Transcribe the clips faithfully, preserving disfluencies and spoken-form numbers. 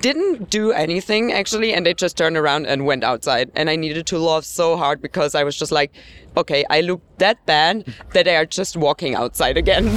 didn't do anything actually, and they just turned around and went outside. And I needed to laugh so hard because I was just like, okay, I look that bad that they are just walking outside again.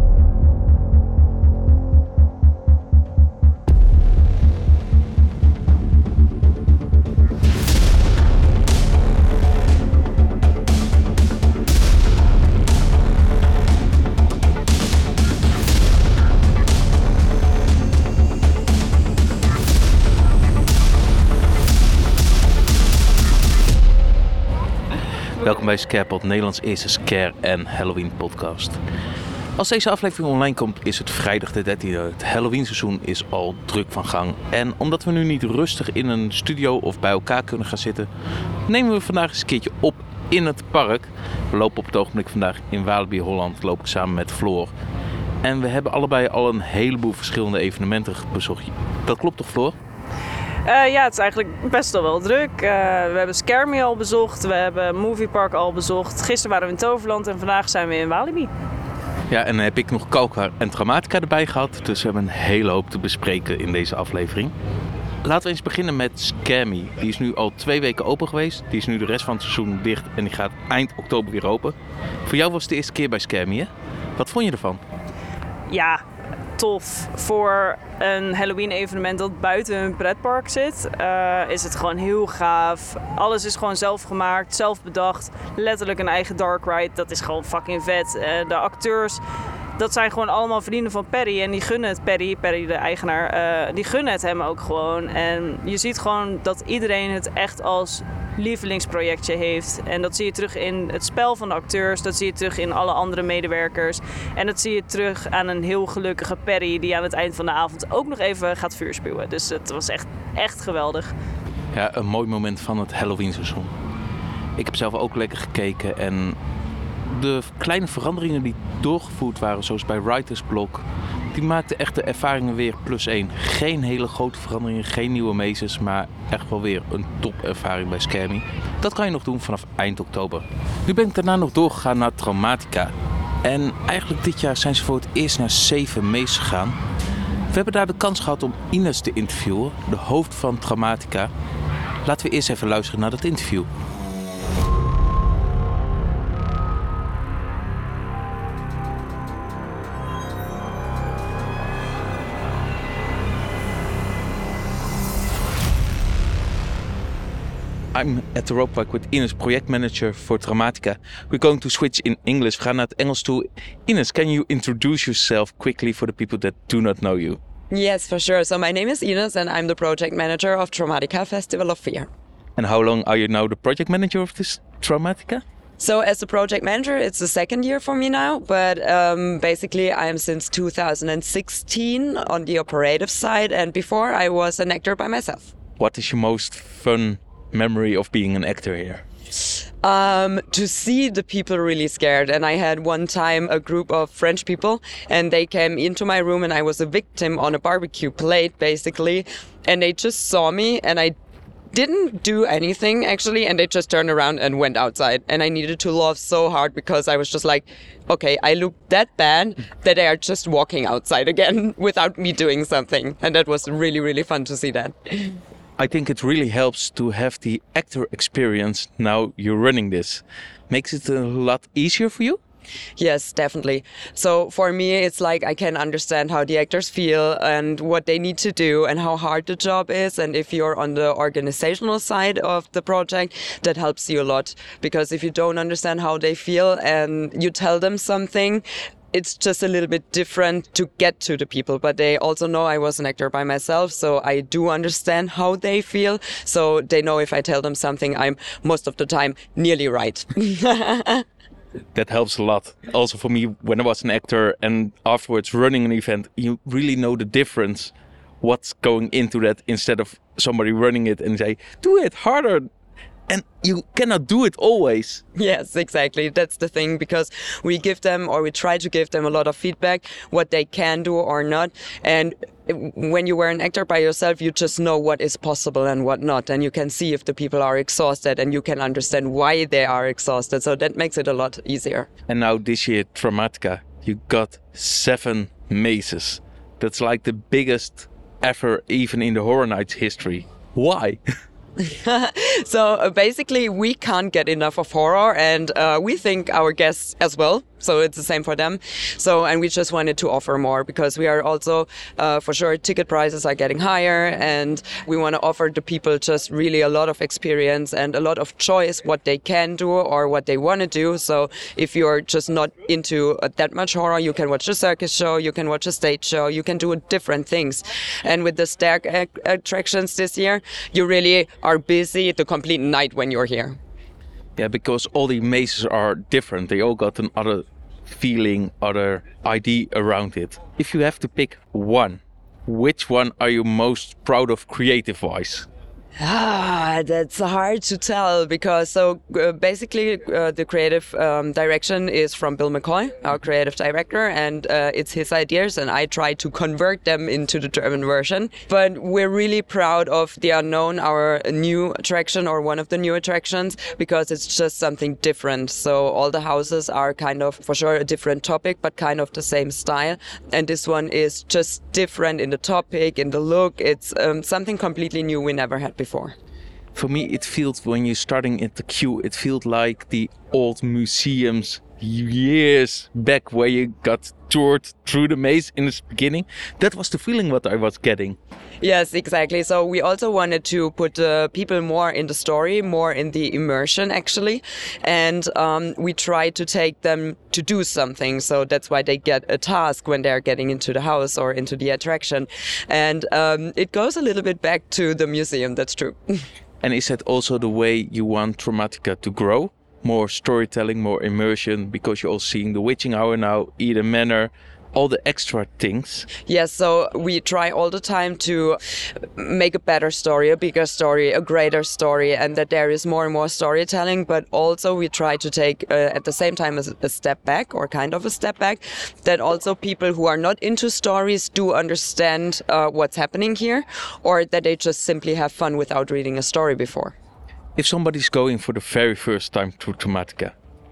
Welkom bij Scarepod, Nederlands eerste scare- en Halloween podcast. Als deze aflevering online komt is het vrijdag de dertiende. Het Halloween seizoen is al druk van gang. En omdat we nu niet rustig in een studio of bij elkaar kunnen gaan zitten, nemen we vandaag eens een keertje op in het park. We lopen op het ogenblik vandaag in Walibi, Holland, loop ik samen met Floor. En we hebben allebei al een heleboel verschillende evenementen bezocht. Dat klopt toch, Floor? Uh, ja, het is eigenlijk best wel wel druk. Uh, we hebben Scare Me al bezocht, we hebben Movie Park al bezocht. Gisteren waren we in Toverland en vandaag zijn we in Walibi. Ja, en dan heb ik nog Kalkar en Traumatica erbij gehad. Dus we hebben een hele hoop te bespreken in deze aflevering. Laten we eens beginnen met Scare Me. Die is nu al twee weken open geweest. Die is nu de rest van het seizoen dicht en die gaat eind oktober weer open. Voor jou was het de eerste keer bij Scare Me, hè? Wat vond je ervan? Ja, tof. Voor een Halloween evenement dat buiten een pretpark zit, uh, is het gewoon heel gaaf. Alles is gewoon zelf gemaakt, zelf bedacht. Letterlijk een eigen dark ride. Dat is gewoon fucking vet. Uh, de acteurs, dat zijn gewoon allemaal vrienden van Perry. En die gunnen het Perry, Perry de eigenaar, uh, die gunnen het hem ook gewoon. En je ziet gewoon dat iedereen het echt als lievelingsprojectje heeft. En dat zie je terug in het spel van de acteurs. Dat zie je terug in alle andere medewerkers. En dat zie je terug aan een heel gelukkige Perry die aan het eind van de avond ook nog even gaat vuur spuwen. Dus het was echt, echt geweldig. Ja, een mooi moment van het Halloween seizoen. Ik heb zelf ook lekker gekeken en de kleine veranderingen die doorgevoerd waren, zoals bij Writers Block, die maakten echt de ervaringen weer plus één. Geen hele grote veranderingen, geen nieuwe mazes, maar echt wel weer een topervaring bij Scare Me. Dat kan je nog doen vanaf eind oktober. Nu ben ik daarna nog doorgegaan naar Traumatica. En eigenlijk dit jaar zijn ze voor het eerst naar zeven mazes gegaan. We hebben daar de kans gehad om Ines te interviewen, de hoofd van Traumatica. Laten we eerst even luisteren naar dat interview. I'm at the Rope Park with Ines, project manager for Traumatica. We're going to switch in English. We gaan naar het Engels toe. Ines, can you introduce yourself quickly for the people that do not know you? Yes, for sure. So my name is Ines and I'm the project manager of Traumatica Festival of Fear. And how long are you now the project manager of this Traumatica? So as the project manager, it's the second year for me now, but um, basically I am since two thousand sixteen on the operative side, and before I was an actor by myself. What is your most fun memory of being an actor here? Um, to see the people really scared. And I had one time a group of French people and they came into my room and I was a victim on a barbecue plate basically. And they just saw me and I didn't do anything actually, and they just turned around and went outside. And I needed to laugh so hard because I was just like, okay, I look that bad that they are just walking outside again without me doing something. And that was really, really fun to see that. I think it really helps to have the actor experience now you're running this. Makes it a lot easier for you? Yes, definitely. So for me, it's like I can understand how the actors feel and what they need to do and how hard the job is. And if you're on the organizational side of the project, that helps you a lot. Because if you don't understand how they feel and you tell them something, it's just a little bit different to get to the people, but they also know I was an actor by myself, so I do understand how they feel. So they know if I tell them something, I'm most of the time nearly right. That helps a lot. Also for me, when I was an actor and afterwards running an event, you really know the difference, what's going into that, instead of somebody running it and say, do it harder. And you cannot do it always. Yes, exactly. That's the thing, because we give them, or we try to give them a lot of feedback, what they can do or not. And when you were an actor by yourself, you just know what is possible and what not. And you can see if the people are exhausted and you can understand why they are exhausted. So that makes it a lot easier. And now this year, Traumatica, you got seven mazes. That's like the biggest ever, even in the Horror Nights history. Why? So uh, basically, we can't get enough of horror, and uh, we think our guests as well. So it's the same for them. So, and we just wanted to offer more because we are also, uh, for sure, ticket prices are getting higher, and we want to offer the people just really a lot of experience and a lot of choice what they can do or what they want to do. So if you're just not into uh, that much horror, you can watch a circus show, you can watch a stage show, you can do different things. And with the stair ac- attractions this year, you really are busy the complete night when you're here. Yeah, because all the mazes are different. They all got another feeling, other idea around it. If you have to pick one, which one are you most proud of creative-wise? Ah, that's hard to tell because so uh, basically uh, the creative um, direction is from Bill McCoy, our creative director, and uh, it's his ideas, and I try to convert them into the German version. But we're really proud of The Unknown, our new attraction or one of the new attractions, because it's just something different. So all the houses are kind of, for sure, a different topic, but kind of the same style. And this one is just different in the topic, in the look. It's um, something completely new we never had before. Before. For me, it feels when you're starting at the queue, it feels like the old museums years back where you got toured through the maze in the beginning. That was the feeling what I was getting. Yes, exactly. So we also wanted to put uh, people more in the story, more in the immersion actually. And um, we try to take them to do something. So that's why they get a task when they're getting into the house or into the attraction. And um, it goes a little bit back to the museum, that's true. And is that also the way you want Dramatica to grow? More storytelling, more immersion, because you're all seeing the Witching Hour now, Eden Manor, all the extra things. Yes, so we try all the time to make a better story, a bigger story, a greater story, and that there is more and more storytelling, but also we try to take uh, at the same time a, a step back, or kind of a step back, that also people who are not into stories do understand uh, what's happening here, or that they just simply have fun without reading a story before. If somebody's going for the very first time to Dramatica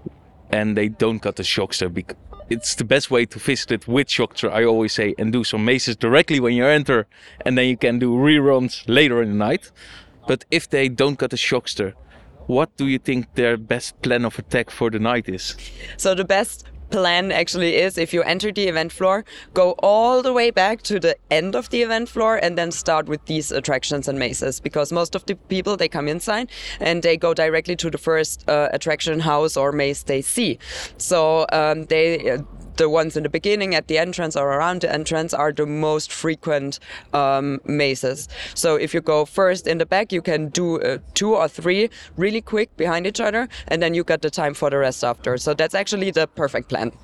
and they don't got the Shockster, because it's the best way to visit it with Shockster, I always say, and do some mazes directly when you enter, and then you can do reruns later in the night. But if they don't got the Shockster, what do you think their best plan of attack for the night is? So the best plan actually is, if you enter the event floor, go all the way back to the end of the event floor and then start with these attractions and mazes, because most of the people, they come inside and they go directly to the first uh, attraction, house or maze they see. So um, they uh, the ones in the beginning, at the entrance or around the entrance, are the most frequent um, mazes. So if you go first in the back, you can do uh, two or three really quick behind each other, and then you got the time for the rest after. So that's actually the perfect plan.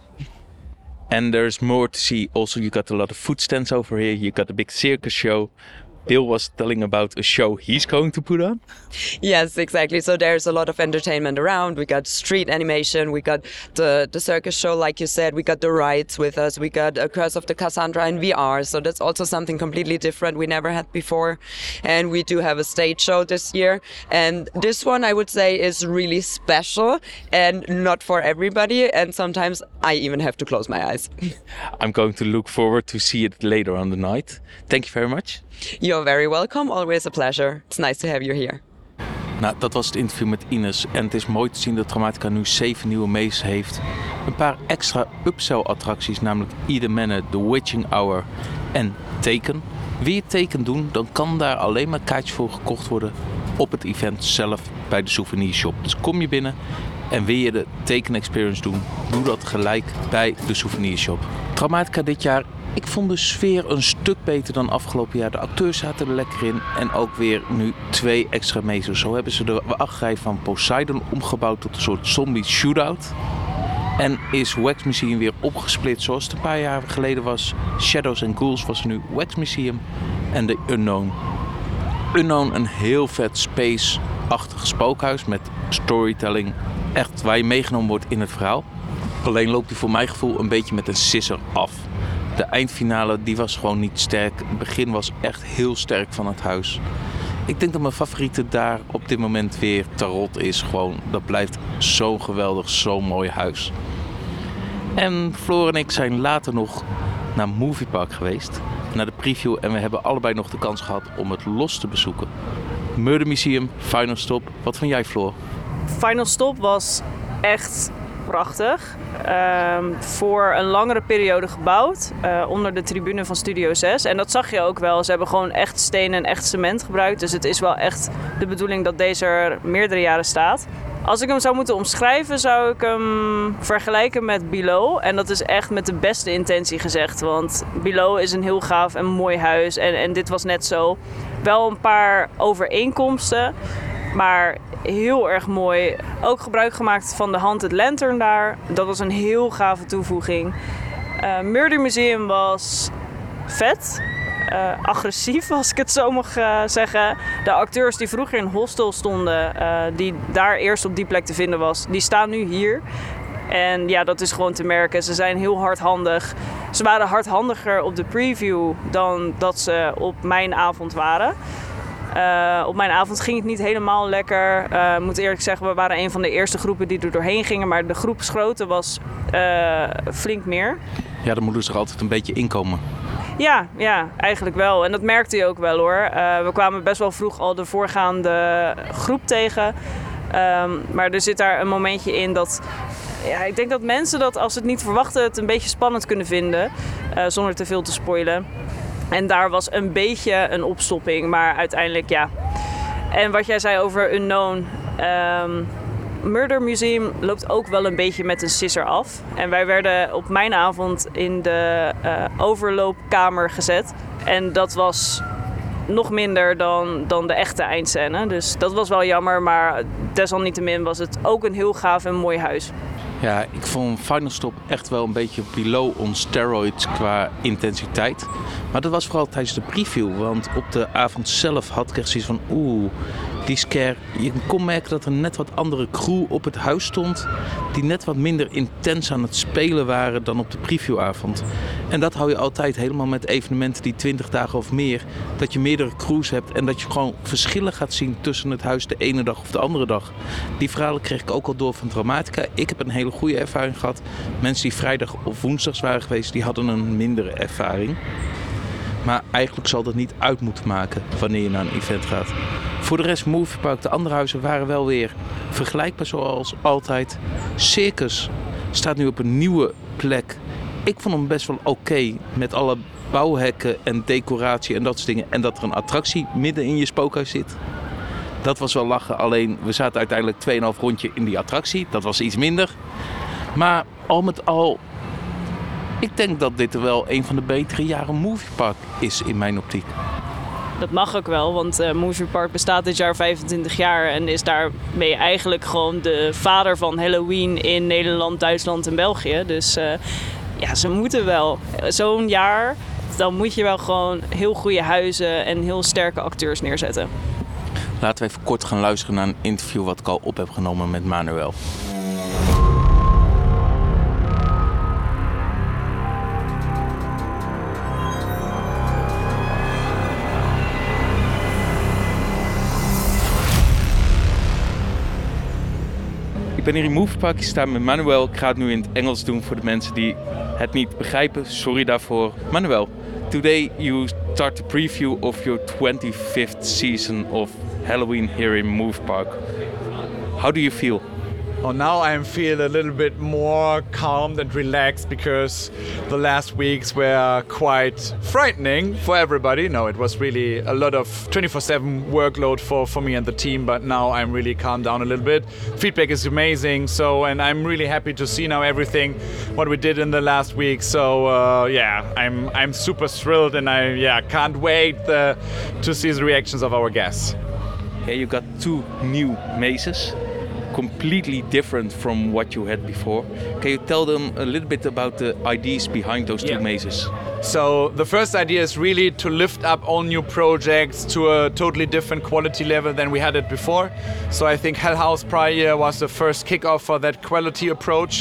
And there's more to see. Also, you got a lot of food stands over here. You got a big circus show. Bill was telling about a show he's going to put on. Yes, exactly. So there's a lot of entertainment around. We got street animation. We got the, the circus show, like you said. We got the rides with us. We got a Curse of the Cassandra in V R. So that's also something completely different we never had before. And we do have a stage show this year. And this one, I would say, is really special and not for everybody. And sometimes I even have to close my eyes. I'm going to look forward to see it later on the night. Thank you very much. You're very welcome. Always a pleasure. It's nice to have you here. Nou, dat was het interview met Ines. En het is mooi te zien dat Dramatica nu zeven nieuwe mazes heeft. Een paar extra upsell attracties, namelijk Eden Manor, The Witching Hour en Taken. Wil je Taken doen, dan kan daar alleen maar kaartjes voor gekocht worden op het event zelf bij de souvenirshop. Dus kom je binnen en wil je de Taken Experience doen, doe dat gelijk bij de souvenirshop. Dramatica dit jaar, ik vond de sfeer een stuk beter dan afgelopen jaar. De acteurs zaten er lekker in en ook weer nu twee extra mazes. Zo hebben ze de wachtrij van Poseidon omgebouwd tot een soort zombie shootout. En is Wax Museum weer opgesplitst zoals het een paar jaar geleden was. Shadows and Ghouls was er nu Wax Museum en The Unknown. Unknown, een heel vet space-achtig spookhuis met storytelling. Echt waar je meegenomen wordt in het verhaal. Alleen loopt hij voor mijn gevoel een beetje met een sisser af. De eindfinale die was gewoon niet sterk. Het begin was echt heel sterk van het huis. Ik denk dat mijn favoriete daar op dit moment weer Tarot is. Gewoon, dat blijft zo'n geweldig, zo'n mooi huis. En Floor en ik zijn later nog naar Movie Park geweest. naar de preview en we hebben allebei nog de kans gehad om het los te bezoeken. Murder Museum, Final Stop. Wat vond jij, Floor? Final Stop was echt prachtig. Um, voor een langere periode gebouwd. Uh, onder de tribune van Studio zes. En dat zag je ook wel. Ze hebben gewoon echt steen en echt cement gebruikt. Dus het is wel echt de bedoeling dat deze er meerdere jaren staat. Als ik hem zou moeten omschrijven, zou ik hem vergelijken met Below. En dat is echt met de beste intentie gezegd. Want Below is een heel gaaf en mooi huis. En, en dit was net zo. Wel een paar overeenkomsten. Maar heel erg mooi. Ook gebruik gemaakt van de Haunted Lantern daar. Dat was een heel gave toevoeging. Uh, Murder Museum was vet. Uh, agressief, als ik het zo mag uh, zeggen. De acteurs die vroeger in Hostel stonden, uh, die daar eerst op die plek te vinden was, die staan nu hier. En ja, dat is gewoon te merken. Ze zijn heel hardhandig. Ze waren hardhandiger op de preview dan dat ze op mijn avond waren. Uh, op mijn avond ging het niet helemaal lekker. Ik uh, moet eerlijk zeggen, we waren een van de eerste groepen die er doorheen gingen. Maar de groepsgrootte was uh, flink meer. Ja, dan moeten ze er altijd een beetje inkomen. Ja, ja, eigenlijk wel. En dat merkte je ook wel hoor. Uh, we kwamen best wel vroeg al de voorgaande groep tegen. Um, maar er zit daar een momentje in dat... Ja, ik denk dat mensen dat als ze het niet verwachten het een beetje spannend kunnen vinden. Uh, zonder te veel te spoilen. En daar was een beetje een opstopping, maar uiteindelijk ja. En wat jij zei over Unknown. Um, Murder Museum loopt ook wel een beetje met een sisser af. En wij werden op mijn avond in de uh, overloopkamer gezet. En dat was nog minder dan, dan de echte eindscène. Dus dat was wel jammer, maar desalniettemin was het ook een heel gaaf en mooi huis. Ja, ik vond Final Stop echt wel een beetje below on steroids qua intensiteit. Maar dat was vooral tijdens de preview. Want op de avond zelf had ik echt zoiets van... Oeh, die scare... Je kon merken dat er net wat andere crew op het huis stond. Die net wat minder intens aan het spelen waren dan op de previewavond. En dat hou je altijd helemaal met evenementen die twintig dagen of meer. Dat je meerdere crews hebt en dat je gewoon verschillen gaat zien tussen het huis de ene dag of de andere dag. Die verhalen kreeg ik ook al door van Dramatica. Ik heb een hele goede ervaring gehad. Mensen die vrijdag of woensdags waren geweest, die hadden een mindere ervaring. Maar eigenlijk zal dat niet uit moeten maken wanneer je naar een event gaat. Voor de rest, Moviepark, de andere huizen waren wel weer vergelijkbaar zoals altijd. Circus staat nu op een nieuwe plek. Ik vond hem best wel oké okay, met alle bouwhekken en decoratie en dat soort dingen. En dat er een attractie midden in je spookhuis zit. Dat was wel lachen, alleen we zaten uiteindelijk twee komma vijf rondje in die attractie. Dat was iets minder. Maar al met al, ik denk dat dit er wel een van de betere jaren Moviepark is in mijn optiek. Dat mag ook wel, want uh, Moviepark bestaat dit jaar vijfentwintig jaar en is daarmee eigenlijk gewoon de vader van Halloween in Nederland, Duitsland en België. Dus uh, ja, ze moeten wel. Zo'n jaar, dan moet je wel gewoon heel goede huizen en heel sterke acteurs neerzetten. Laten we even kort gaan luisteren naar een interview wat ik al op heb genomen met Manuel. Ik ben hier in Moviepark, ik sta met Manuel. Ik ga het nu in het Engels doen voor de mensen die het niet begrijpen. Sorry daarvoor. Manuel, today you start the preview of your twenty-fifth season of Halloween here in Moviepark. How do you feel? Oh, now I feel a little bit more calmed and relaxed because the last weeks were quite frightening for everybody. No, it was really a lot of twenty-four seven workload for, for me and the team, but now I'm really calmed down a little bit. Feedback is amazing, so, and I'm really happy to see now everything what we did in the last week. So uh, yeah, I'm I'm super thrilled and I yeah can't wait uh, to see the reactions of our guests. Yeah, you got two new mazes. Completely different from what you had before. Can you tell them a little bit about the ideas behind those two yeah. mazes? So the first idea is really to lift up all new projects to a totally different quality level than we had it before. So I think Hell House prior year was the first kickoff for that quality approach.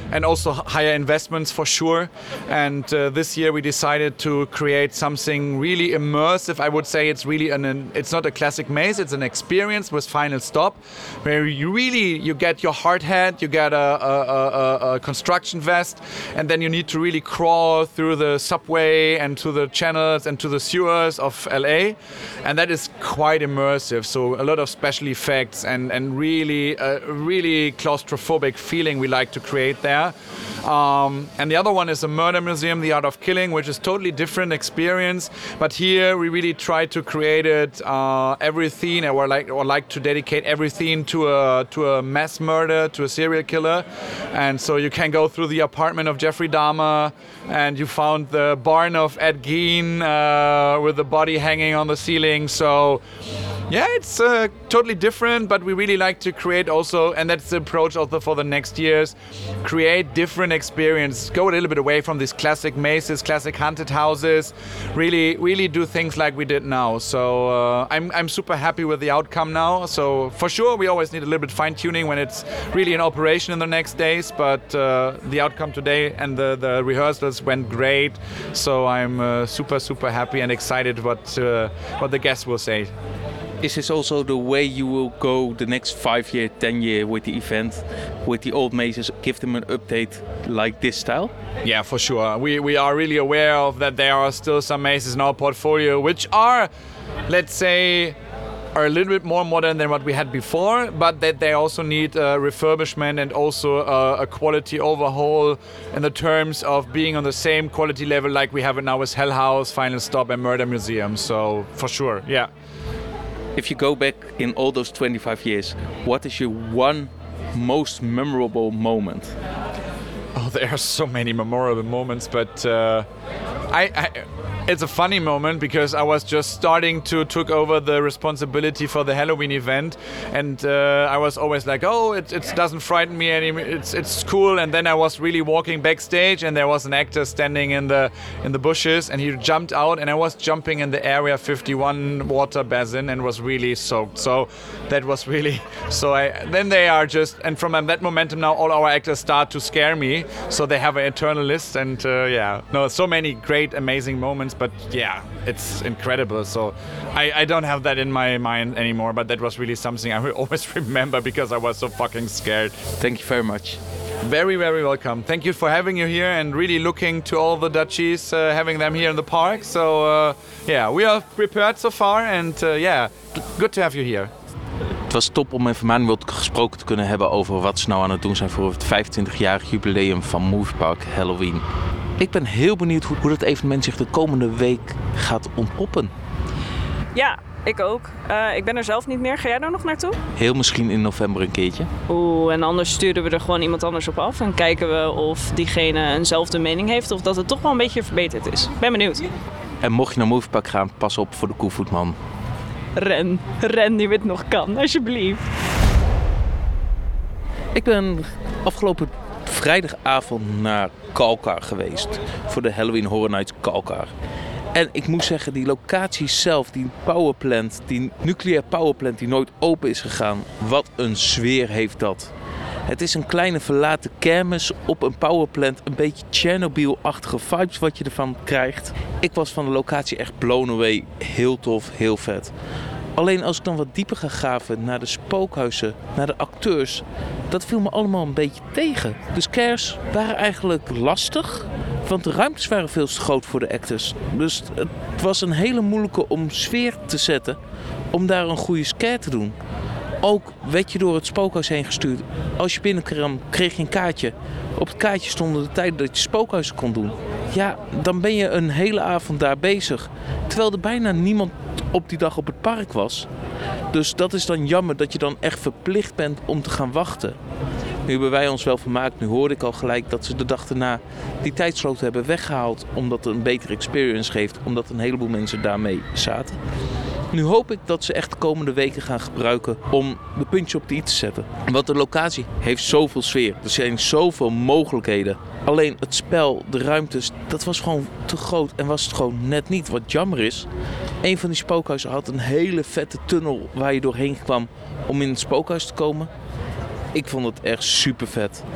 and also higher investments for sure. And uh, this year we decided to create something really immersive. I would say it's really an, an it's not a classic maze, it's an experience with Final Stop, where you really you get your hard hat, you get a, a, a, a construction vest, and then you need to really crawl through the subway and to the channels and to the sewers of L A, and that is quite immersive. So a lot of special effects and and really a really claustrophobic feeling we like to create there. Um, and the other one is a murder museum, The Art of Killing, which is totally different experience. But here we really try to create it uh, everything, or like or like to dedicate everything to a to a mass murder, to a serial killer. And so you can go through the apartment of Jeffrey Dahmer, and you found the barn of Ed Gein uh, with the body hanging on the ceiling. So yeah, it's uh, totally different, but we really like to create also, and that's the approach also for the next years, create different experience, go a little bit away from these classic mazes, classic haunted houses, really really do things like we did now. So uh, I'm, I'm super happy with the outcome now. So for sure we always need a little bit fine tuning when it's really in operation in the next days, but uh, the outcome today and the, the rehearsals went great. So I'm uh, super super happy and excited what, uh, what the guests will say. Is this also the way you will go the next five year, ten year with the event, with the old mazes, give them an update like this style? Yeah, for sure. We we are really aware of that there are still some mazes in our portfolio which are, let's say, are a little bit more modern than what we had before, but that they also need uh, refurbishment and also uh, a quality overhaul in the terms of being on the same quality level like we have it now with Hell House, Final Stop and Murder Museum. So for sure, yeah. If you go back in all those twenty-five years, what is your one most memorable moment? Oh, there are so many memorable moments, but uh, I, I, it's a funny moment because I was just starting to took over the responsibility for the Halloween event, and uh, I was always like, oh, it, it doesn't frighten me anymore. It's it's cool. And then I was really walking backstage, and there was an actor standing in the in the bushes, and he jumped out, and I was jumping in the Area fifty-one water basin and was really soaked. So that was really so. I then they are just, and from that momentum now, all our actors start to scare me. So they have an eternal list, and uh, yeah, no, so many great, amazing moments. But yeah, it's incredible. So I, I don't have that in my mind anymore, but that was really something I will always remember because I was so fucking scared. Thank you very much. Very, very welcome. Thank you for having you here and really looking to all the duchies, uh, having them here in the park. So uh, yeah, we are prepared so far, and uh, yeah, good to have you here. Het was top om even Manuel gesproken te kunnen hebben over wat ze nou aan het doen zijn voor het vijfentwintigjarig jubileum van Moviepark Halloween. Ik ben heel benieuwd hoe, hoe dat evenement zich de komende week gaat ontpoppen. Ja, ik ook. Uh, ik ben er zelf niet meer. Ga jij daar nog naartoe? Heel misschien in november een keertje. Oeh, en anders sturen we er gewoon iemand anders op af. En kijken we of diegene eenzelfde mening heeft of dat het toch wel een beetje verbeterd is. Ik ben benieuwd. En mocht je naar Moviepark gaan, pas op voor de Koevoetman. Ren, ren nu het nog kan, alsjeblieft. Ik ben afgelopen vrijdagavond naar Kalkar geweest. Voor de Halloween Horror Nights Kalkar. En ik moet zeggen, die locatie zelf, die powerplant, die nucleair powerplant die nooit open is gegaan. Wat een sfeer heeft dat. Het is een kleine verlaten kermis op een powerplant. Een beetje Chernobyl-achtige vibes wat je ervan krijgt. Ik was van de locatie echt blown away. Heel tof, heel vet. Alleen als ik dan wat dieper ga graven naar de spookhuizen, naar de acteurs, dat viel me allemaal een beetje tegen. De scares waren eigenlijk lastig, want de ruimtes waren veel te groot voor de actors. Dus het was een hele moeilijke om sfeer te zetten, om daar een goede scare te doen. Ook werd je door het spookhuis heen gestuurd. Als je binnenkwam, kreeg je een kaartje. Op het kaartje stonden de tijden dat je spookhuizen kon doen. Ja, dan ben je een hele avond daar bezig. Terwijl er bijna niemand op die dag op het park was. Dus dat is dan jammer dat je dan echt verplicht bent om te gaan wachten. Nu hebben wij ons wel vermaakt. Nu hoorde ik al gelijk dat ze de dag daarna die tijdslot hebben weggehaald. Omdat het een betere experience geeft. Omdat een heleboel mensen daarmee zaten. Nu hoop ik dat ze echt de komende weken gaan gebruiken om de puntje op de i te zetten. Want de locatie heeft zoveel sfeer. Er zijn zoveel mogelijkheden. Alleen het spel, de ruimtes, dat was gewoon te groot en was het gewoon net niet. Wat jammer is, een van die spookhuizen had een hele vette tunnel waar je doorheen kwam om in het spookhuis te komen. Ik vond het echt super vet.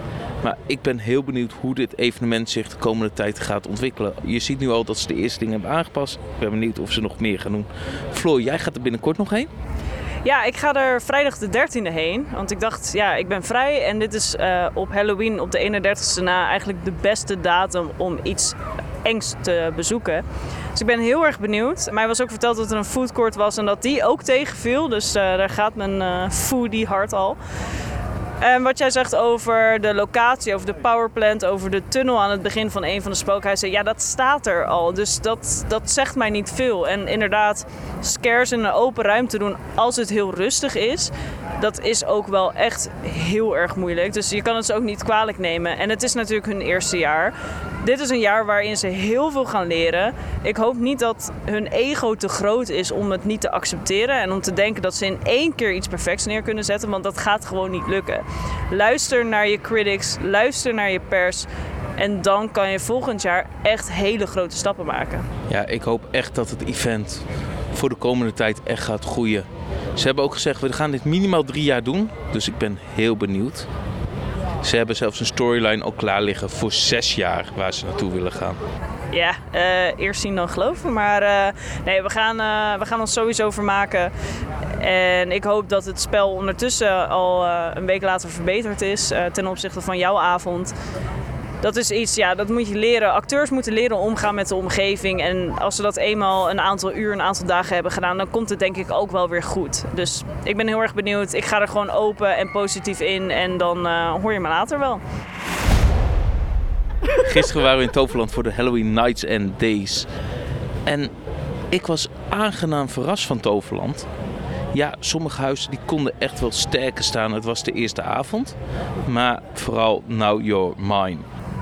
Maar ik ben heel benieuwd hoe dit evenement zich de komende tijd gaat ontwikkelen. Je ziet nu al dat ze de eerste dingen hebben aangepast. Ik ben benieuwd of ze nog meer gaan doen. Floor, jij gaat er binnenkort nog heen? Ja, ik ga er vrijdag de dertiende heen. Want ik dacht, ja, ik ben vrij. En dit is uh, op Halloween op de eenendertigste na eigenlijk de beste datum om iets engs te bezoeken. Dus ik ben heel erg benieuwd. Mij was ook verteld dat er een foodcourt was en dat die ook tegenviel. Dus uh, daar gaat mijn uh, foodie hart al. En wat jij zegt over de locatie, over de powerplant, over de tunnel aan het begin van een van de spookhuizen. Ja, dat staat er al. Dus dat, dat zegt mij niet veel. En inderdaad, scares in een open ruimte doen als het heel rustig is, dat is ook wel echt heel erg moeilijk. Dus je kan het ze ook niet kwalijk nemen. En het is natuurlijk hun eerste jaar. Dit is een jaar waarin ze heel veel gaan leren. Ik hoop niet dat hun ego te groot is om het niet te accepteren en om te denken dat ze in één keer iets perfects neer kunnen zetten, want dat gaat gewoon niet lukken. Luister naar je critics, luister naar je pers en dan kan je volgend jaar echt hele grote stappen maken. Ja, ik hoop echt dat het event voor de komende tijd echt gaat groeien. Ze hebben ook gezegd, we gaan dit minimaal drie jaar doen, dus ik ben heel benieuwd. Ze hebben zelfs een storyline al klaar liggen voor zes jaar waar ze naartoe willen gaan. Ja, uh, eerst zien dan geloven. Maar uh, nee, we gaan, uh, we gaan ons sowieso vermaken. En ik hoop dat het spel ondertussen al uh, een week later verbeterd is uh, ten opzichte van jouw avond. Dat is iets, ja, dat moet je leren. Acteurs moeten leren omgaan met de omgeving. En als ze dat eenmaal een aantal uur, een aantal dagen hebben gedaan, dan komt het denk ik ook wel weer goed. Dus ik ben heel erg benieuwd. Ik ga er gewoon open en positief in. En dan uh, hoor je me later wel. Gisteren waren we in Toverland voor de Halloween Nights and Days. En ik was aangenaam verrast van Toverland. Ja, sommige huizen die konden echt wel sterker staan. Het was de eerste avond. Maar vooral Now You're Mine.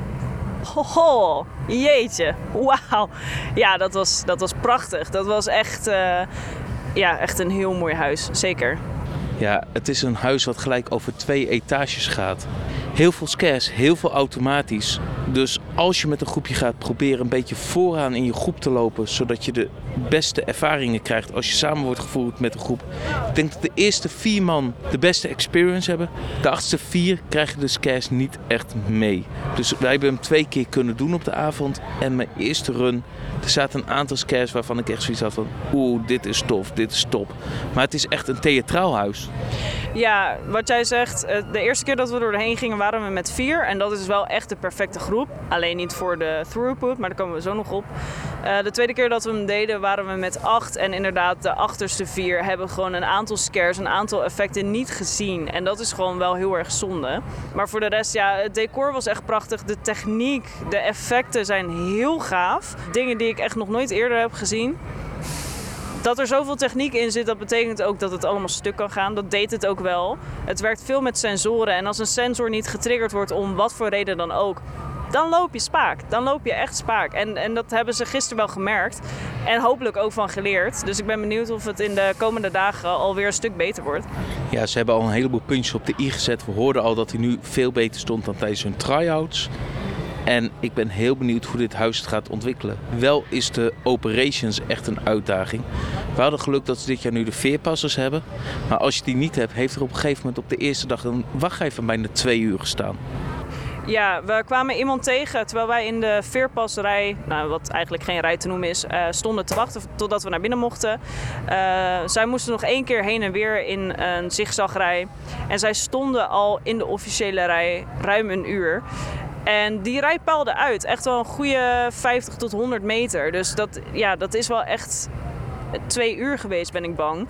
Hoho, jeetje, wauw. Ja, dat was, dat was prachtig. Dat was echt, uh, ja, echt een heel mooi huis, zeker. Ja, het is een huis wat gelijk over twee etages gaat. Heel veel scares, heel veel automatisch. Dus als je met een groepje gaat, proberen een beetje vooraan in je groep te lopen, zodat je de beste ervaringen krijgt als je samen wordt gevoerd met een groep. Ik denk dat de eerste vier man de beste experience hebben. De achtste vier krijgen de scares niet echt mee. Dus wij hebben hem twee keer kunnen doen op de avond. En mijn eerste run, er zaten een aantal scares waarvan ik echt zoiets had van, oeh, dit is tof, dit is top. Maar het is echt een theatraal huis. Ja, wat jij zegt, de eerste keer dat we er doorheen gingen waren we met vier. En dat is wel echt de perfecte groep. Alleen niet voor de throughput, maar daar komen we zo nog op. Uh, de tweede keer dat we hem deden waren we met acht. En inderdaad, de achterste vier hebben gewoon een aantal scares, een aantal effecten niet gezien. En dat is gewoon wel heel erg zonde. Maar voor de rest, ja, het decor was echt prachtig. De techniek, de effecten zijn heel gaaf. Dingen die ik echt nog nooit eerder heb gezien. Dat er zoveel techniek in zit, dat betekent ook dat het allemaal stuk kan gaan. Dat deed het ook wel. Het werkt veel met sensoren. En als een sensor niet getriggerd wordt om wat voor reden dan ook, dan loop je spaak. Dan loop je echt spaak. En, en dat hebben ze gisteren wel gemerkt. En hopelijk ook van geleerd. Dus ik ben benieuwd of het in de komende dagen alweer een stuk beter wordt. Ja, ze hebben al een heleboel puntjes op de i gezet. We hoorden al dat hij nu veel beter stond dan tijdens hun try-outs. En ik ben heel benieuwd hoe dit huis het gaat ontwikkelen. Wel is de operations echt een uitdaging. We hadden geluk dat ze dit jaar nu de veerpassers hebben. Maar als je die niet hebt, heeft er op een gegeven moment op de eerste dag een wachtrij van bijna twee uur gestaan. Ja, we kwamen iemand tegen terwijl wij in de veerpasrij, nou, wat eigenlijk geen rij te noemen is, uh, stonden te wachten totdat we naar binnen mochten. Uh, zij moesten nog één keer heen en weer in een zigzagrij. En zij stonden al in de officiële rij ruim een uur. En die rij paalde uit. Echt wel een goede vijftig tot honderd meter. Dus dat, ja, dat is wel echt twee uur geweest, ben ik bang.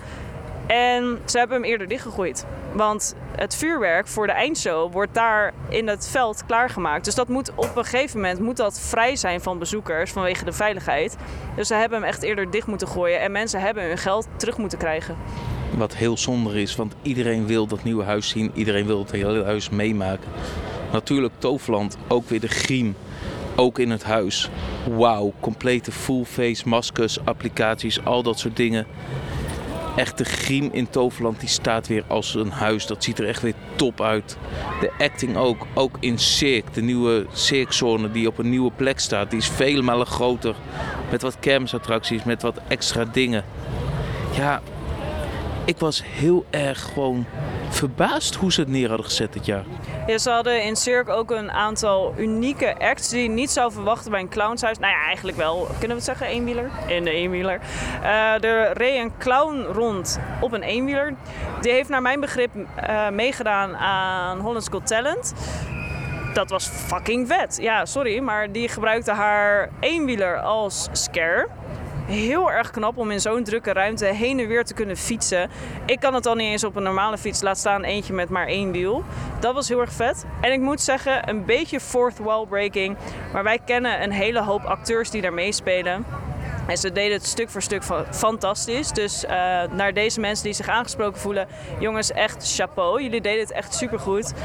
En ze hebben hem eerder dichtgegooid. Want het vuurwerk voor de eindshow wordt daar in het veld klaargemaakt. Dus dat moet op een gegeven moment moet dat vrij zijn van bezoekers vanwege de veiligheid. Dus ze hebben hem echt eerder dicht moeten gooien. En mensen hebben hun geld terug moeten krijgen. Wat heel zonde is, want iedereen wil dat nieuwe huis zien. Iedereen wil het hele huis meemaken. Natuurlijk Toverland, ook weer de griem. Ook in het huis. Wauw, complete full face maskers, applicaties, al dat soort dingen. Echt de griem in Toverland, die staat weer als een huis. Dat ziet er echt weer top uit. De acting ook, ook in Cirque. De nieuwe Cirque-zone die op een nieuwe plek staat. Die is vele malen groter. Met wat kermisattracties, met wat extra dingen. Ja, Ik was heel erg gewoon verbaasd hoe ze het neer hadden gezet dit jaar. Ja, ze hadden in Cirque ook een aantal unieke acts die je niet zou verwachten bij een clownshuis. Nou ja, eigenlijk wel. Kunnen we het zeggen? Eenwieler? In de eenwieler. Uh, er reed een clown rond op een eenwieler. Die heeft naar mijn begrip uh, meegedaan aan Holland's Got Talent. Dat was fucking vet. Ja, sorry, maar die gebruikte haar eenwieler als scare. Heel erg knap om in zo'n drukke ruimte heen en weer te kunnen fietsen. Ik kan het al niet eens op een normale fiets, laat staan eentje met maar één wiel. Dat was heel erg vet. En ik moet zeggen, een beetje fourth wall breaking. Maar wij kennen een hele hoop acteurs die daar meespelen. En ze deden het stuk voor stuk fantastisch. Dus uh, naar deze mensen die zich aangesproken voelen, jongens, echt chapeau. Jullie deden het echt supergoed.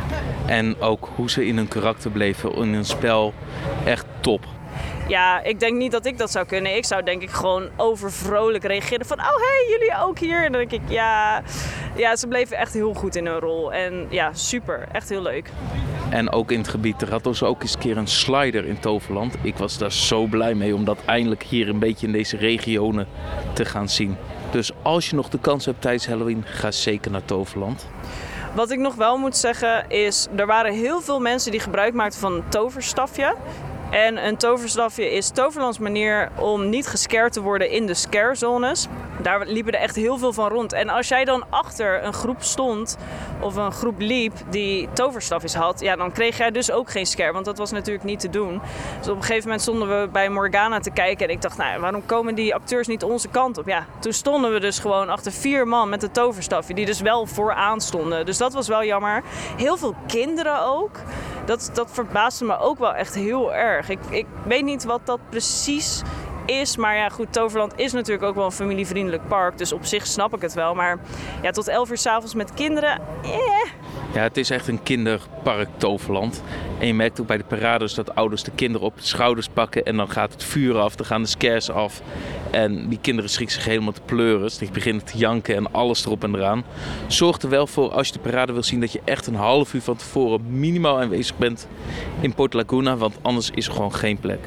En ook hoe ze in hun karakter bleven, in hun spel, echt top. Ja, ik denk niet dat ik dat zou kunnen. Ik zou denk ik gewoon overvrolijk reageren van, oh hey, jullie ook hier. En dan denk ik, ja, ja, ze bleven echt heel goed in hun rol. En ja, super. Echt heel leuk. En ook in het gebied, er had dus ook eens een keer een slider in Toverland. Ik was daar zo blij mee om dat eindelijk hier een beetje in deze regionen te gaan zien. Dus als je nog de kans hebt tijdens Halloween, ga zeker naar Toverland. Wat ik nog wel moet zeggen is, er waren heel veel mensen die gebruik maakten van een toverstafje. En een toverstafje is Toverlands manier om niet gescared te worden in de scarezones. Daar liepen er echt heel veel van rond. En als jij dan achter een groep stond of een groep liep die toverstafjes had, ja, dan kreeg jij dus ook geen scare, want dat was natuurlijk niet te doen. Dus op een gegeven moment stonden we bij Morgana te kijken en ik dacht, nou, waarom komen die acteurs niet onze kant op? Ja, toen stonden we dus gewoon achter vier man met een toverstafje die dus wel vooraan stonden. Dus dat was wel jammer. Heel veel kinderen ook. Dat, dat verbaasde me ook wel echt heel erg. Ik, ik weet niet wat dat precies is. Maar ja, goed, Toverland is natuurlijk ook wel een familievriendelijk park. Dus op zich snap ik het wel. Maar ja, tot elf uur 's avonds met kinderen, eh. Ja, het is echt een kinderpark Toverland. En je merkt ook bij de parades dat ouders de kinderen op de schouders pakken. En dan gaat het vuur af, dan gaan de scares af. En die kinderen schrikken zich helemaal te pleuren. Die beginnen te janken en alles erop en eraan. Zorg er wel voor, als je de parade wil zien, dat je echt een half uur van tevoren minimaal aanwezig bent in Port Laguna. Want anders is er gewoon geen plek.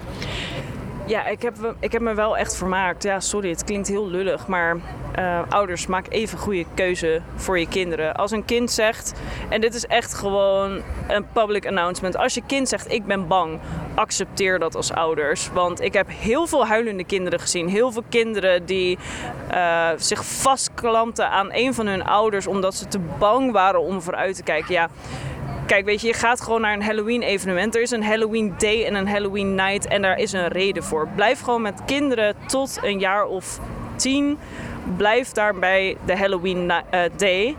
Ja, ik heb, ik heb me wel echt vermaakt. Ja, sorry, het klinkt heel lullig, maar uh, ouders, maak even goede keuze voor je kinderen. Als een kind zegt, en dit is echt gewoon een public announcement. Als je kind zegt, ik ben bang, accepteer dat als ouders. Want ik heb heel veel huilende kinderen gezien. Heel veel kinderen die uh, zich vastklampten aan een van hun ouders omdat ze te bang waren om vooruit te kijken. Ja. Kijk, weet je, je gaat gewoon naar een Halloween-evenement. Er is een Halloween Day en een Halloween Night en daar is een reden voor. Blijf gewoon met kinderen tot een jaar of tien. Blijf daar bij de Halloween uh, Day.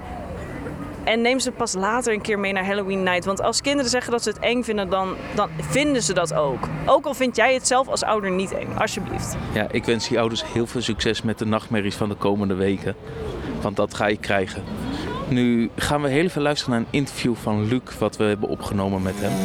En neem ze pas later een keer mee naar Halloween Night. Want als kinderen zeggen dat ze het eng vinden, dan, dan vinden ze dat ook. Ook al vind jij het zelf als ouder niet eng, alsjeblieft. Ja, ik wens die ouders heel veel succes met de nachtmerries van de komende weken. Want dat ga je krijgen. Nu gaan we heel even luisteren naar een interview van Luc, wat we hebben opgenomen met hem.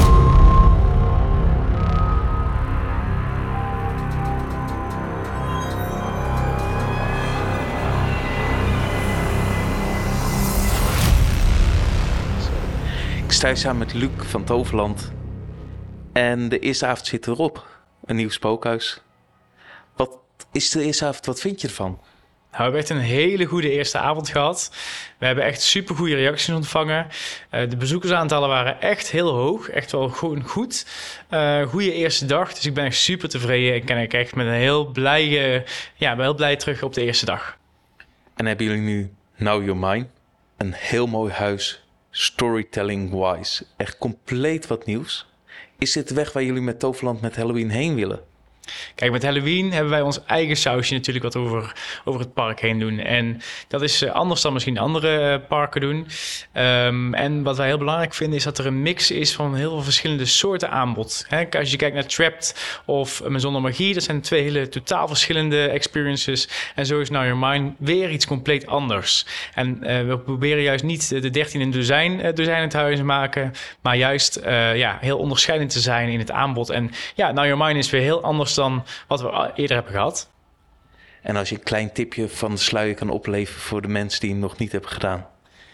Ik sta hier samen met Luc van Toverland. En de eerste avond zit erop. Een nieuw spookhuis. Wat is de eerste avond? Wat vind je ervan? Nou, we hebben echt een hele goede eerste avond gehad. We hebben echt super goede reacties ontvangen. Uh, de bezoekersaantallen waren echt heel hoog. Echt wel gewoon goed. Uh, goede eerste dag. Dus ik ben echt super tevreden. Ik ben echt met een heel blij, uh, ja, ben heel blij terug op de eerste dag. En hebben jullie nu Now You're Mine? Een heel mooi huis. Storytelling-wise. Echt compleet wat nieuws. Is dit de weg waar jullie met Toverland met Halloween heen willen? Kijk, met Halloween hebben wij ons eigen sausje natuurlijk wat over, over het park heen doen. En dat is anders dan misschien andere parken doen. Um, en wat wij heel belangrijk vinden is dat er een mix is van heel veel verschillende soorten aanbod. He, als je kijkt naar Trapped of Maison de Magie, dat zijn twee hele totaal verschillende experiences. En zo is Now You're Mine weer iets compleet anders. En uh, we proberen juist niet de dertien in dozijn, uh, dozijn het huis te maken, maar juist uh, ja, heel onderscheidend te zijn in het aanbod. En ja, Now You're Mine is weer heel anders dan wat we eerder hebben gehad. En als je een klein tipje van de sluier kan opleveren voor de mensen die hem nog niet hebben gedaan.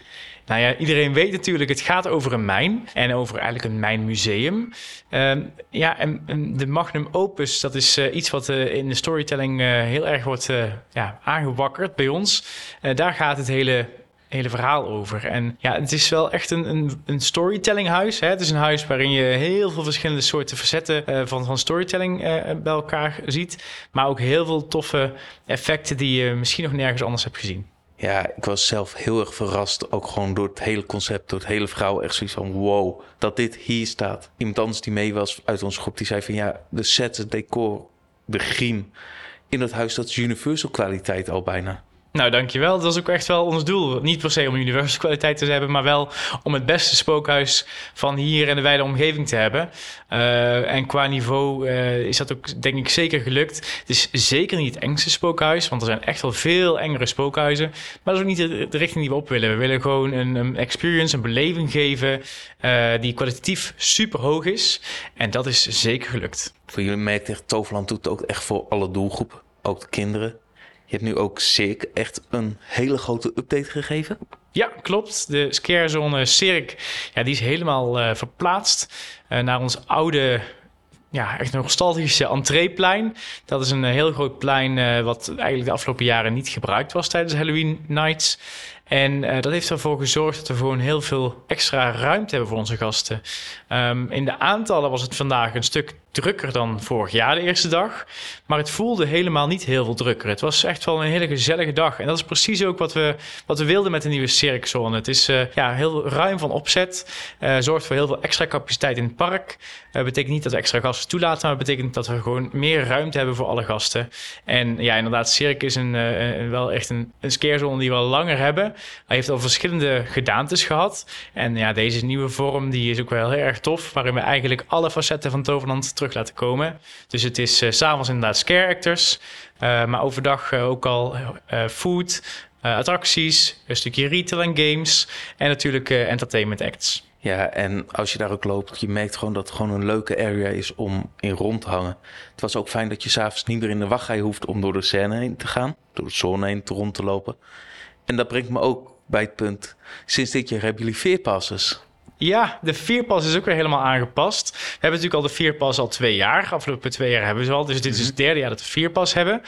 Nou ja, iedereen weet natuurlijk, het gaat over een mijn en over eigenlijk een mijnmuseum. Uh, ja, en, en de magnum opus, dat is uh, iets wat uh, in de storytelling uh, heel erg wordt uh, ja, aangewakkerd bij ons. Uh, daar gaat het hele... hele verhaal over. En ja, het is wel echt een, een, een storytellinghuis. Hè? Het is een huis waarin je heel veel verschillende soorten facetten uh, van, van storytelling uh, bij elkaar ziet. Maar ook heel veel toffe effecten die je misschien nog nergens anders hebt gezien. Ja, ik was zelf heel erg verrast. Ook gewoon door het hele concept, door het hele verhaal. Echt zoiets van wow, dat dit hier staat. Iemand anders die mee was uit onze groep, die zei van ja, de sets, het decor, de griem in dat huis, dat is Universal kwaliteit al bijna. Nou, dankjewel. Dat was ook echt wel ons doel. Niet per se om Universal kwaliteit te hebben, maar wel om het beste spookhuis van hier en de wijde omgeving te hebben. Uh, en qua niveau uh, is dat ook, denk ik, zeker gelukt. Het is zeker niet het engste spookhuis, want er zijn echt wel veel engere spookhuizen. Maar dat is ook niet de, de richting die we op willen. We willen gewoon een, een experience, een beleving geven uh, die kwalitatief super hoog is. En dat is zeker gelukt. Voor jullie merkt echt, Toverland doet het ook echt voor alle doelgroepen, ook de kinderen. Je hebt nu ook Cirque echt een hele grote update gegeven. Ja, klopt. De scarezone Cirque, ja, die is helemaal uh, verplaatst uh, naar ons oude, ja, echt nostalgische entreeplein. Dat is een uh, heel groot plein uh, wat eigenlijk de afgelopen jaren niet gebruikt was tijdens Halloween Nights. En uh, dat heeft ervoor gezorgd dat we gewoon heel veel extra ruimte hebben voor onze gasten. Um, in de aantallen was het vandaag een stuk drukker dan vorig jaar de eerste dag. Maar het voelde helemaal niet heel veel drukker. Het was echt wel een hele gezellige dag. En dat is precies ook wat we, wat we wilden met de nieuwe Cirque-zone. Het is uh, ja, heel ruim van opzet. Uh, zorgt voor heel veel extra capaciteit in het park. Dat uh, betekent niet dat we extra gasten toelaten. Maar het betekent dat we gewoon meer ruimte hebben voor alle gasten. En ja, inderdaad, Cirque is een, uh, wel echt een, een scarezone die we al langer hebben. Hij heeft al verschillende gedaantes gehad. En ja, deze nieuwe vorm die is ook wel heel erg tof. Waarin we eigenlijk alle facetten van Toverland terug laten komen. Dus het is uh, 's avonds inderdaad scare actors. Uh, maar overdag uh, ook al uh, food, uh, attracties, een stukje retail en games. En natuurlijk uh, entertainment acts. Ja, en als je daar ook loopt, je merkt gewoon dat het gewoon een leuke area is om in rond te hangen. Het was ook fijn dat je 's avonds niet meer in de wachtrij hoeft om door de scène heen te gaan. Door de zone heen te rond te lopen. En dat brengt me ook bij het punt, sinds dit jaar hebben jullie veerpasses. Ja, de Veerpas is ook weer helemaal aangepast. We hebben natuurlijk al de Veerpas al twee jaar. Afgelopen twee jaar hebben we ze al. Dus dit is het derde jaar dat we Veerpas hebben.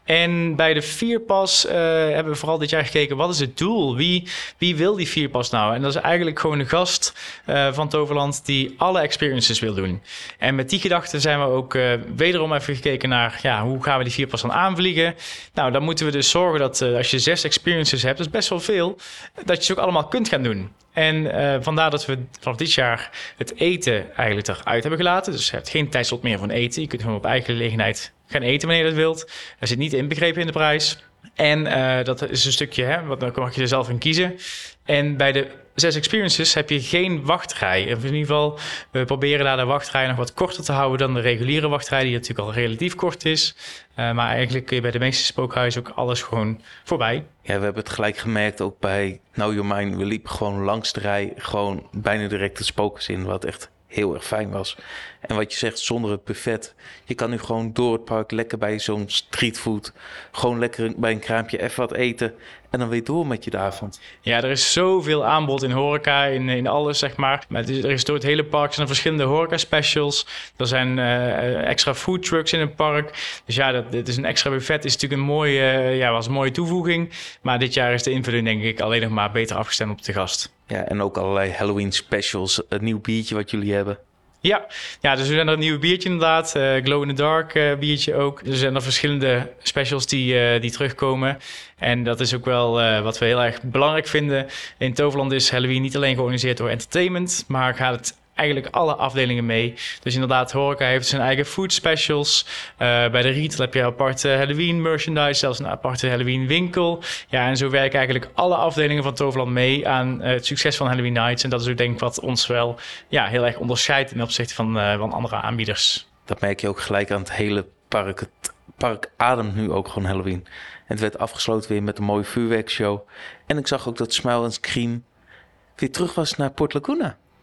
En bij de Veerpas uh, hebben we vooral dit jaar gekeken, wat is het doel? Wie, wie wil die Veerpas nou? En dat is eigenlijk gewoon een gast uh, van Toverland die alle experiences wil doen. En met die gedachte zijn we ook uh, wederom even gekeken naar, ja, hoe gaan we die Veerpas dan aanvliegen? Nou, dan moeten we dus zorgen dat uh, als je zes experiences hebt, dat is best wel veel, dat je ze ook allemaal kunt gaan doen. En uh, vandaar dat we vanaf dit jaar het eten eigenlijk eruit hebben gelaten. Dus je hebt geen tijdslot meer voor eten. Je kunt gewoon op eigen gelegenheid gaan eten wanneer je dat wilt. Er zit niet inbegrepen in de prijs. En uh, dat is een stukje, hè, want dan mag je er zelf in kiezen. En bij de zes experiences heb je geen wachtrij. In ieder geval, we proberen daar de wachtrij nog wat korter te houden dan de reguliere wachtrij, die natuurlijk al relatief kort is. Uh, maar eigenlijk kun je bij de meeste spookhuizen ook alles gewoon voorbij. Ja, we hebben het gelijk gemerkt ook bij Now You're Mine. We liepen gewoon langs de rij, gewoon bijna direct het spookhuis in, wat echt heel erg fijn was. En wat je zegt, zonder het buffet. Je kan nu gewoon door het park lekker bij zo'n streetfood, gewoon lekker bij een kraampje even wat eten en dan weer door met je de avond. Ja, er is zoveel aanbod in horeca, in, in alles, zeg maar. Maar het is, er is door het hele park zijn er verschillende horeca-specials. Er zijn uh, extra food trucks in het park. Dus ja, dat, dit is een extra buffet. Is natuurlijk een mooie, uh, ja, was een mooie toevoeging. Maar dit jaar is de invulling, denk ik, alleen nog maar beter afgestemd op de gast. Ja, en ook allerlei Halloween specials. Een nieuw biertje wat jullie hebben. Ja, ja, dus er zijn er een nieuwe biertje inderdaad. Uh, Glow in the Dark uh, biertje ook. Er zijn er verschillende specials die, uh, die terugkomen. En dat is ook wel uh, wat we heel erg belangrijk vinden. In Toverland is Halloween niet alleen georganiseerd door entertainment, maar gaat het eigenlijk alle afdelingen mee. Dus inderdaad, horeca heeft zijn eigen food specials. Uh, bij de retail heb je aparte Halloween merchandise, zelfs een aparte Halloween winkel. Ja, en zo werken eigenlijk alle afdelingen van Toverland mee aan uh, het succes van Halloween Nights. En dat is ook denk ik wat ons wel ja, heel erg onderscheidt ten opzichte van, uh, van andere aanbieders. Dat merk je ook gelijk aan het hele park. Het park ademt nu ook gewoon Halloween. En het werd afgesloten weer met een mooie vuurwerkshow. En ik zag ook dat Smile and Scream weer terug was naar Port Laguna.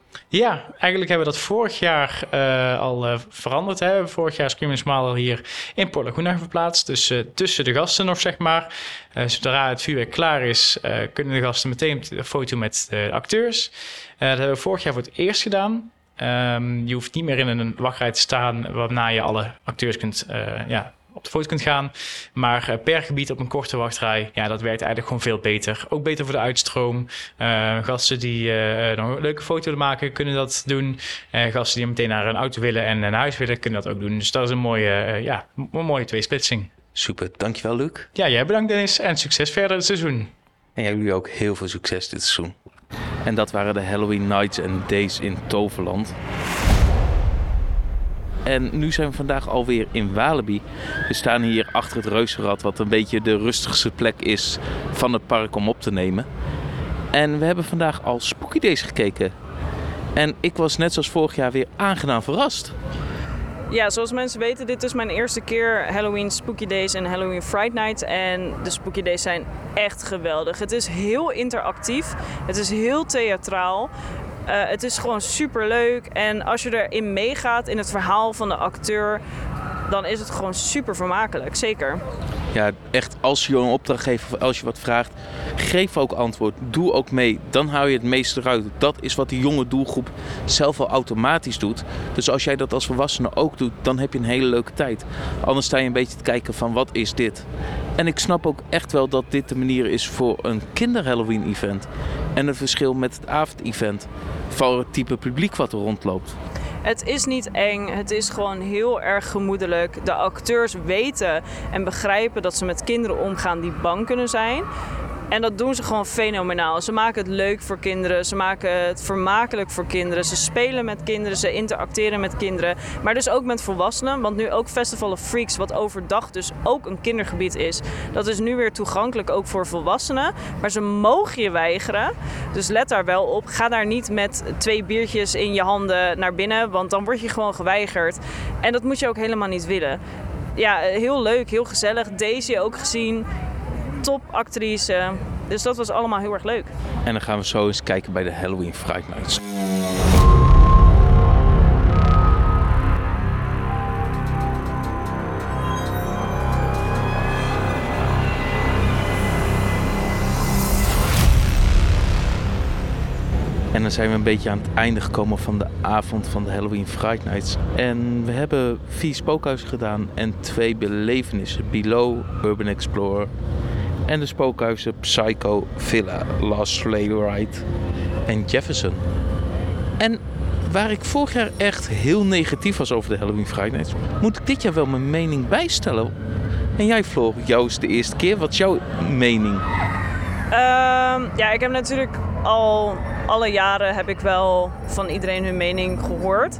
Ja, eigenlijk hebben we dat vorig jaar uh, al uh, veranderd. Hè. Vorig jaar Scream and Smile hier in Port Laguna verplaatst. Dus uh, tussen de gasten nog, zeg maar. Uh, zodra het vuurwerk klaar is, uh, kunnen de gasten meteen een foto met de acteurs. Uh, dat hebben we vorig jaar voor het eerst gedaan. Um, je hoeft niet meer in een wachtrij te staan waarna je alle acteurs kunt... Uh, ja, op de foto kunt gaan. Maar uh, per gebied op een korte wachtrij, ja, dat werkt eigenlijk gewoon veel beter. Ook beter voor de uitstroom. Uh, gasten die uh, nog een leuke foto willen maken, kunnen dat doen. Uh, gasten die meteen naar een auto willen en naar huis willen, kunnen dat ook doen. Dus dat is een mooie, uh, ja, een mooie tweesplitsing. Super, dankjewel Luc. Ja, jij bedankt Dennis en succes verder het seizoen. En jullie ook heel veel succes dit seizoen. En dat waren de Halloween Nights and Days in Toverland. En nu zijn we vandaag alweer in Walibi. We staan hier achter het reuzenrad, wat een beetje de rustigste plek is van het park om op te nemen. En we hebben vandaag al Spooky Days gekeken. En ik was net zoals vorig jaar weer aangenaam verrast. Ja, zoals mensen weten, dit is mijn eerste keer Halloween Spooky Days en Halloween Fright Night. En de Spooky Days zijn echt geweldig. Het is heel interactief, het is heel theatraal. Uh, het is gewoon super leuk en als je erin meegaat in het verhaal van de acteur, dan is het gewoon super vermakelijk, zeker. Ja, echt, als je een opdracht geeft of als je wat vraagt, geef ook antwoord. Doe ook mee. Dan hou je het meeste eruit. Dat is wat die jonge doelgroep zelf al automatisch doet. Dus als jij dat als volwassene ook doet, dan heb je een hele leuke tijd. Anders sta je een beetje te kijken van wat is dit? En ik snap ook echt wel dat dit de manier is voor een kinder-Halloween-event. En het verschil met het avond-event. Voor het type publiek wat er rondloopt. Het is niet eng, het is gewoon heel erg gemoedelijk. De acteurs weten en begrijpen dat ze met kinderen omgaan die bang kunnen zijn. En dat doen ze gewoon fenomenaal. Ze maken het leuk voor kinderen, ze maken het vermakelijk voor kinderen. Ze spelen met kinderen, ze interacteren met kinderen. Maar dus ook met volwassenen, want nu ook Festival of Freaks, wat overdag dus ook een kindergebied is. Dat is nu weer toegankelijk ook voor volwassenen. Maar ze mogen je weigeren, dus let daar wel op. Ga daar niet met twee biertjes in je handen naar binnen, want dan word je gewoon geweigerd. En dat moet je ook helemaal niet willen. Ja, heel leuk, heel gezellig. Daisy ook gezien. Topactrice. Dus dat was allemaal heel erg leuk. En dan gaan we zo eens kijken bij de Halloween Fright Nights. En dan zijn we een beetje aan het einde gekomen van de avond van de Halloween Fright Nights. En we hebben vier spookhuizen gedaan en twee belevenissen. Below, Urban Explorer en de spookhuizen Psycho, Villa, Last Sleigh Ride en Jefferson. En waar ik vorig jaar echt heel negatief was over de Halloween Fright Nights, moet ik dit jaar wel mijn mening bijstellen. En jij Floor, jou is de eerste keer. Wat is jouw mening? Uh, ja, ik heb natuurlijk al alle jaren heb ik wel van iedereen hun mening gehoord.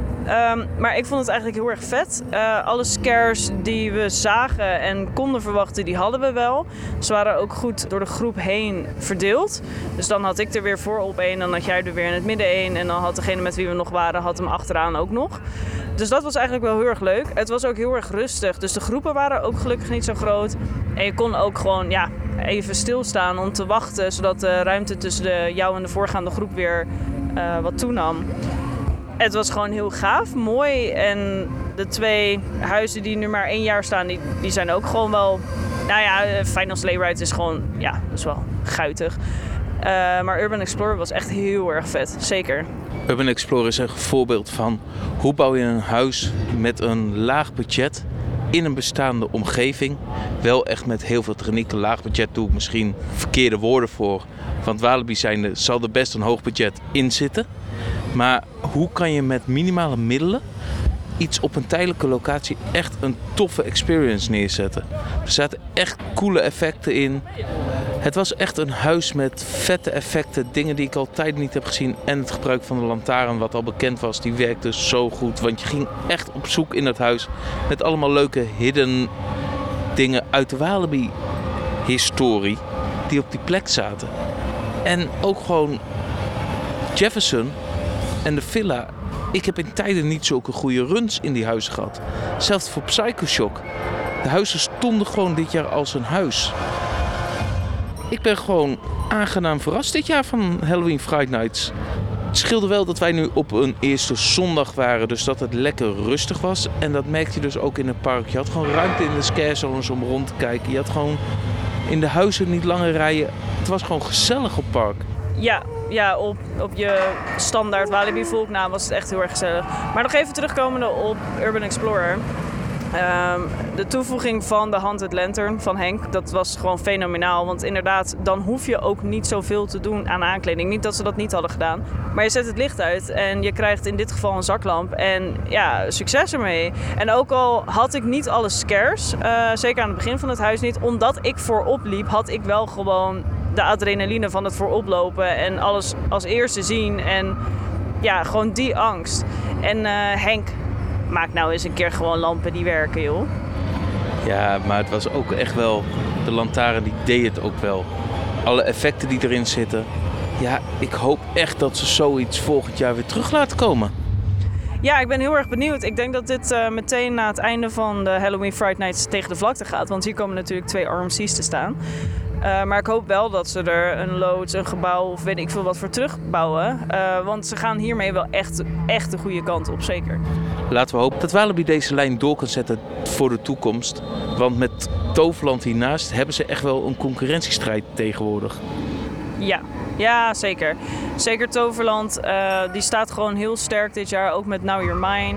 Um, maar ik vond het eigenlijk heel erg vet. Uh, alle scares die we zagen en konden verwachten, die hadden we wel. Ze waren ook goed door de groep heen verdeeld. Dus dan had ik er weer voor op één, dan had jij er weer in het midden één. En dan had degene met wie we nog waren, had hem achteraan ook nog. Dus dat was eigenlijk wel heel erg leuk. Het was ook heel erg rustig. Dus de groepen waren ook gelukkig niet zo groot. En je kon ook gewoon ja, even stilstaan om te wachten, zodat de ruimte tussen de, jou en de voorgaande groep weer uh, wat toenam. Het was gewoon heel gaaf, mooi. En de twee huizen die nu maar één jaar staan, die, die zijn ook gewoon wel... Nou ja, Final Sleigh Ride is gewoon, ja, dat is wel guitig. Uh, maar Urban Explorer was echt heel erg vet, zeker. Urban Explorer is een voorbeeld van hoe bouw je een huis met een laag budget in een bestaande omgeving. Wel echt met heel veel techniek. Een laag budget doe ik misschien verkeerde woorden voor. Want Walibi zijnde zal er best een hoog budget in zitten. Maar hoe kan je met minimale middelen iets op een tijdelijke locatie echt een toffe experience neerzetten? Er zaten echt coole effecten in. Het was echt een huis met vette effecten, dingen die ik al tijden niet heb gezien. En het gebruik van de lantaarn, wat al bekend was, die werkte zo goed. Want je ging echt op zoek in het huis met allemaal leuke hidden dingen uit de Walibi-historie die op die plek zaten. En ook gewoon Jefferson en de villa. Ik heb in tijden niet zulke goede runs in die huizen gehad. Zelfs voor Psycho Shock. De huizen stonden gewoon dit jaar als een huis. Ik ben gewoon aangenaam verrast dit jaar van Halloween Fright Nights. Het scheelde wel dat wij nu op een eerste zondag waren, dus dat het lekker rustig was. En dat merkte je dus ook in het park. Je had gewoon ruimte in de scarezones om rond te kijken. Je had gewoon in de huizen niet langer rijden. Het was gewoon gezellig op het park. Ja, ja op, op je standaard Walibi volknaam was het echt heel erg gezellig. Maar nog even terugkomende op Urban Explorer. Um, de toevoeging van de Haunted Lantern van Henk, dat was gewoon fenomenaal. Want inderdaad, dan hoef je ook niet zoveel te doen aan aankleding. Niet dat ze dat niet hadden gedaan. Maar je zet het licht uit en je krijgt in dit geval een zaklamp. En ja, succes ermee. En ook al had ik niet alle scares, uh, zeker aan het begin van het huis niet. Omdat ik voorop liep, had ik wel gewoon de adrenaline van het voorop lopen. En alles als eerste zien. En ja, gewoon die angst. En uh, Henk... Maak nou eens een keer gewoon lampen die werken, joh. Ja, maar het was ook echt wel... De lantaarn die deed het ook wel. Alle effecten die erin zitten. Ja, ik hoop echt dat ze zoiets volgend jaar weer terug laten komen. Ja, ik ben heel erg benieuwd. Ik denk dat dit uh, meteen na het einde van de Halloween Fright Nights tegen de vlakte gaat. Want hier komen natuurlijk twee R M C's te staan. Uh, maar ik hoop wel dat ze er een loods, een gebouw of weet ik veel wat voor terugbouwen. Uh, want ze gaan hiermee wel echt, echt de goede kant op, zeker. Laten we hopen dat Walibi deze lijn door kan zetten voor de toekomst. Want met Toverland hiernaast hebben ze echt wel een concurrentiestrijd tegenwoordig. Ja, ja zeker. Zeker Toverland, uh, die staat gewoon heel sterk dit jaar, ook met Now You're Mine.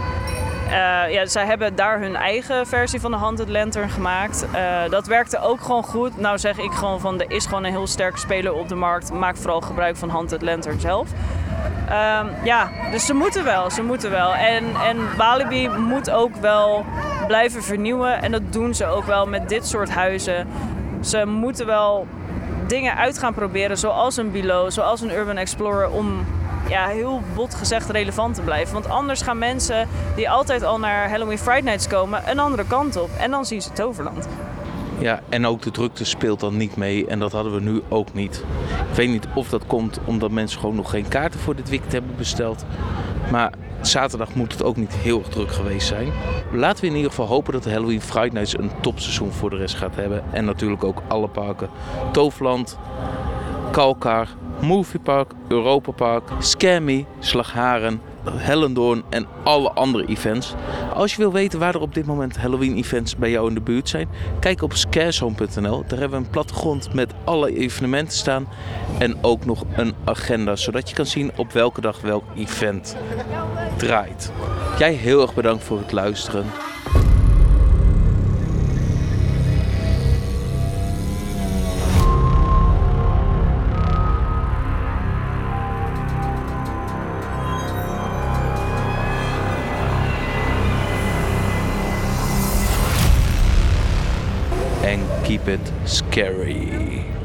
Uh, ja, zij hebben daar hun eigen versie van de Haunted Lantern gemaakt. Uh, dat werkte ook gewoon goed. Nou zeg ik gewoon van, er is gewoon een heel sterke speler op de markt. Maak vooral gebruik van Haunted Lantern zelf. Um, ja, dus ze moeten wel, ze moeten wel. En, en Walibi moet ook wel blijven vernieuwen. En dat doen ze ook wel met dit soort huizen. Ze moeten wel dingen uit gaan proberen, zoals een Below, zoals een Urban Explorer, om ja, heel bot gezegd relevant te blijven. Want anders gaan mensen die altijd al naar Halloween Fright Nights komen een andere kant op. En dan zien ze Toverland. Ja, en ook de drukte speelt dan niet mee. En dat hadden we nu ook niet. Ik weet niet of dat komt omdat mensen gewoon nog geen kaarten voor dit weekend hebben besteld. Maar zaterdag moet het ook niet heel erg druk geweest zijn. Laten we in ieder geval hopen dat de Halloween Fright Nights een topseizoen voor de rest gaat hebben. En natuurlijk ook alle parken. Toverland, Kalkar, Moviepark, Europa Park, Scare Me, Slagharen, Hellendoorn en alle andere events. Als je wil weten waar er op dit moment Halloween events bij jou in de buurt zijn, kijk op scarezone punt n l. Daar hebben we een plattegrond met alle evenementen staan en ook nog een agenda, zodat je kan zien op welke dag welk event draait. Jij heel erg bedankt voor het luisteren. And keep it scary.